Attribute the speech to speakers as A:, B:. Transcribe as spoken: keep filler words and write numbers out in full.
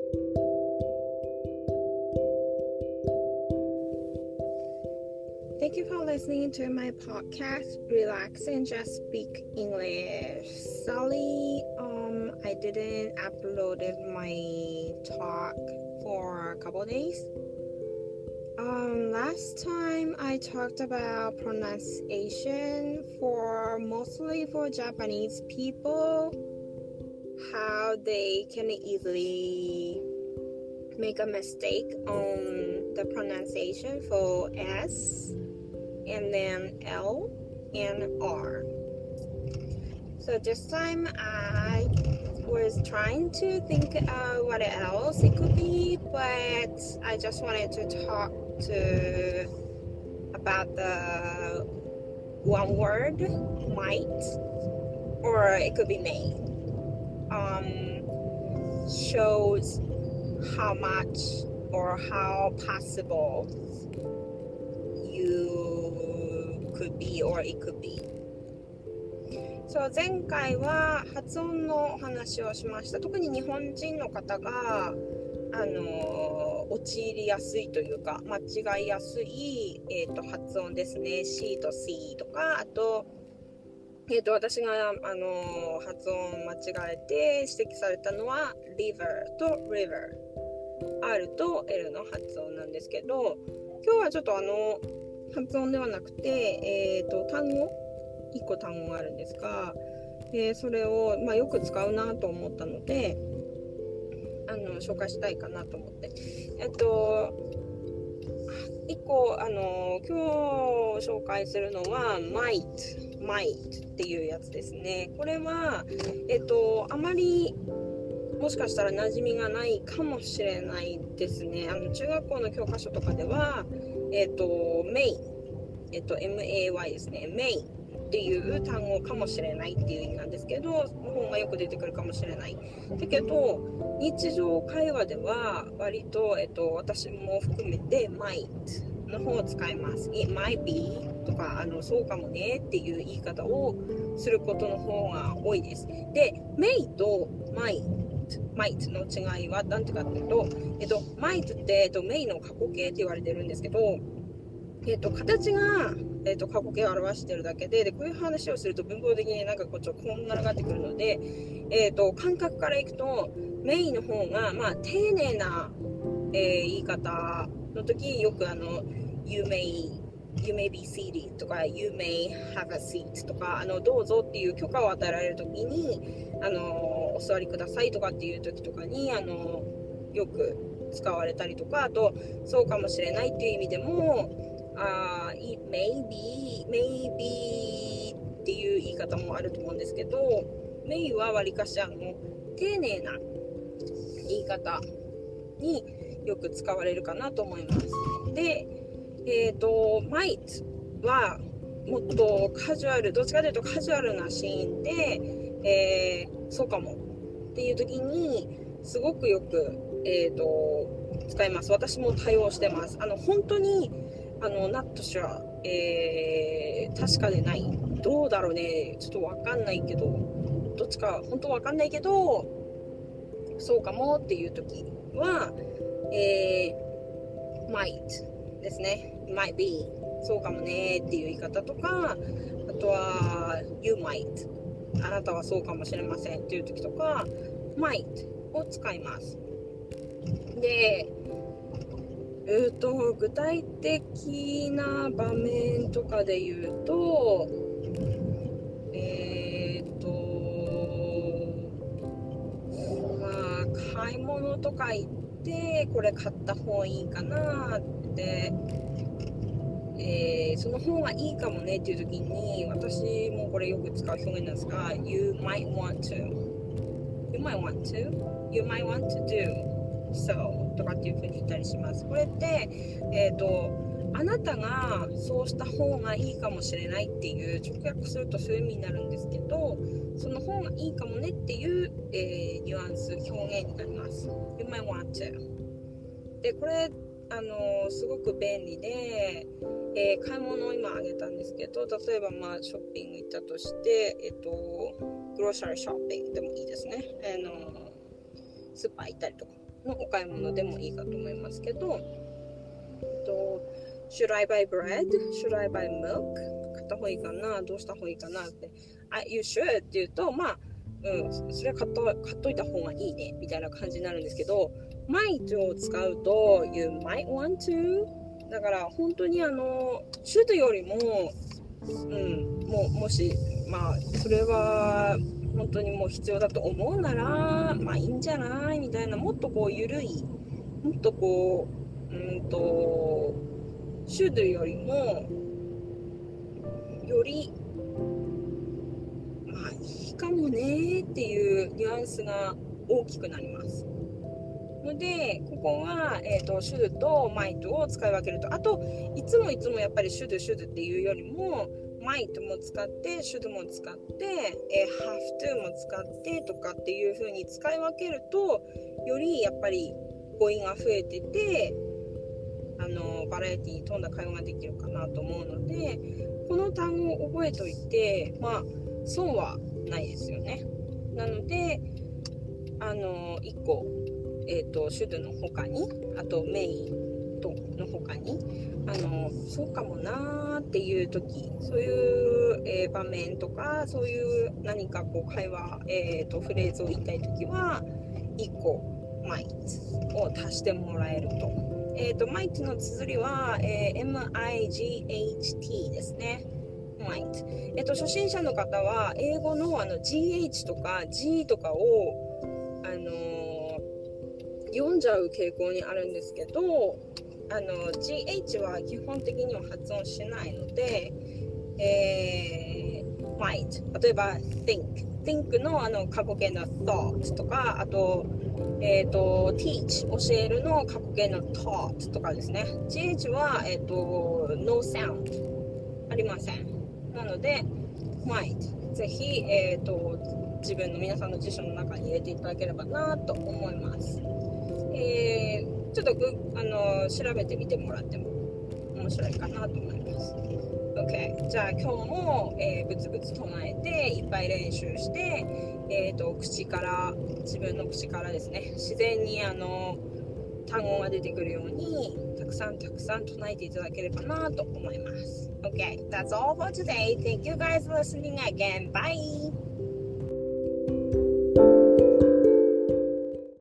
A: Thank you for listening to my podcast, Relax and Just Speak English. Sorry, um, I didn't upload my talk for a couple days. Um, last time I talked about pronunciation for mostly for Japanese people, how they can easily make a mistake on the pronunciation for S and then L and R. So this time I was trying to think uh, what else it could be, but I just wanted to talk to about the one word, might, or it could be may. Um, shows how much or how possible you could be or it could be.そう、前回は発音のお話をしました。特に日本人の方があの陥りやすいというか間違いやすい、えー、と発音ですね。 C と C とか、あと、えー、と私が、あの発音間違えて指摘されたのは river と river、R と L の発音なんですけど、今日はちょっとあの発音ではなくて、えー、と単語いっこ単語があるんですが、えー、それを、まあ、よく使うなと思ったのであの紹介したいかなと思って、えっといっこあの今日紹介するのは might might っていうやつですね。これはえっとあまりもしかしたら馴染みがないかもしれないですね。あの中学校の教科書とかではえっと may えっと エムエーワイ ですね。 mayっていう単語かもしれないっていう意味なんですけど、本がよく出てくるかもしれない。だけど日常会話では割と、えっと、私も含めて might の方を使います。 It might be とかあのそうかもねっていう言い方をすることの方が多いです。で may と might might の違いは何てかっていうと、えっと、might って、えっと、may の過去形って言われてるんですけど、えっと、形がえー、と過去形を表しているだけ で, でこういう話をすると文法的になんかこうちょっとこんがらがってくるので、えー、と感覚からいくとメインの方が、まあ、丁寧な、えー、言い方の時よくあの you may, you may be seated とか you may have a seat とかあのどうぞっていう許可を与えられる時にあのお座りくださいとかっていう時とかにあのよく使われたりとか、あとそうかもしれないっていう意味でもUh, it may be, maybe っていう言い方もあると思うんですけど、may はわりかしあの丁寧な言い方によく使われるかなと思います。で、えっと might はもっとカジュアル、どっちかというとカジュアルなシーンで、えー、そうかもっていう時にすごくよく、えー、と使います。私も対応してます。あの本当にあのナットシュラ、えー、確かでない、どうだろうね、ちょっと分かんないけど、どっちか本当分かんないけどそうかもっていう時は、えー、might ですね。 might be そうかもねっていう言い方とか、あとは you might あなたはそうかもしれませんっていう時とか might を使います。でえー、と具体的な場面とかで言うと、えーとまあ買い物とか行ってこれ買った方がいいかなって、えー、その方がいいかもねっていう時に私もこれよく使う表現なんですが You might want to You might want to You might want to do Soとかっていう風に言ったりします。これって、えーと、あなたがそうした方がいいかもしれないっていう直訳するとそういう意味になるんですけど、その方がいいかもねっていう、えー、ニュアンス表現になります。You might want to でこれあのすごく便利で、えー、買い物を今あげたんですけど、例えばまあショッピング行ったとして、えっ、ー、とグローサリーショッピングでもいいですね。あのスーパー行ったりとかのお買い物でもいいかと思いますけど、と Should I buy bread? Should I buy milk? 買った方がいいかな、どうした方がいいかなって、I, You should って言うと、まあ、うん、それは買っと、買っといた方がいいねみたいな感じになるんですけど、might を使うと You might want to、 だから本当にあの should よりも、うん、も, もしまあそれは本当にもう必要だと思うならまあいいんじゃないみたいな、もっとこう緩い、もっとこううんと should よりもよりまあいいかもねっていうニュアンスが大きくなりますので、ここは、えーと、should と might を使い分けると、あといつもいつもやっぱり should should っていうよりも might も使って should も使って、えー、have to も使ってとかっていう風に使い分けると、よりやっぱり語彙が増えてて、あのバラエティに富んだ会話ができるかなと思うので、この単語を覚えておいてまあ損はないですよね。なのであのいっこ、えーと、should の他に、あと may との他に、あのそうかもなーっていう時、そういう、えー、場面とか、そういう何かこう会話、えーと、フレーズを言いたい時はいっこ might を足してもらえると。えーと、might の綴りは、えー、エムアイジーエイチティー ですね。might。えーと、初心者の方は英語のあの ジーエイチ とか G とかをあのー、読んじゃう傾向にあるんですけど、あの ジーエイチ は基本的には発音しないので、えー、might、例えば think、think のあの過去形の thought とか、あとえーと teach、教えるの過去形の taught とかですね。ジーエイチ はえーと no sound ありません。なので might ぜひえーと自分の皆さんの辞書の中に入れていただければなと思います。えー、ちょっとぐあの調べてみてもらっても面白いかなと思います。OK、 じゃあ今日も、えー、ブツブツ唱えていっぱい練習して、えーと、口から自分の口からですね、自然にあの単語が出てくるようにたくさんたくさん唱えていただければなと思います。OK、 that's all for today. Thank you guys for listening again. Bye!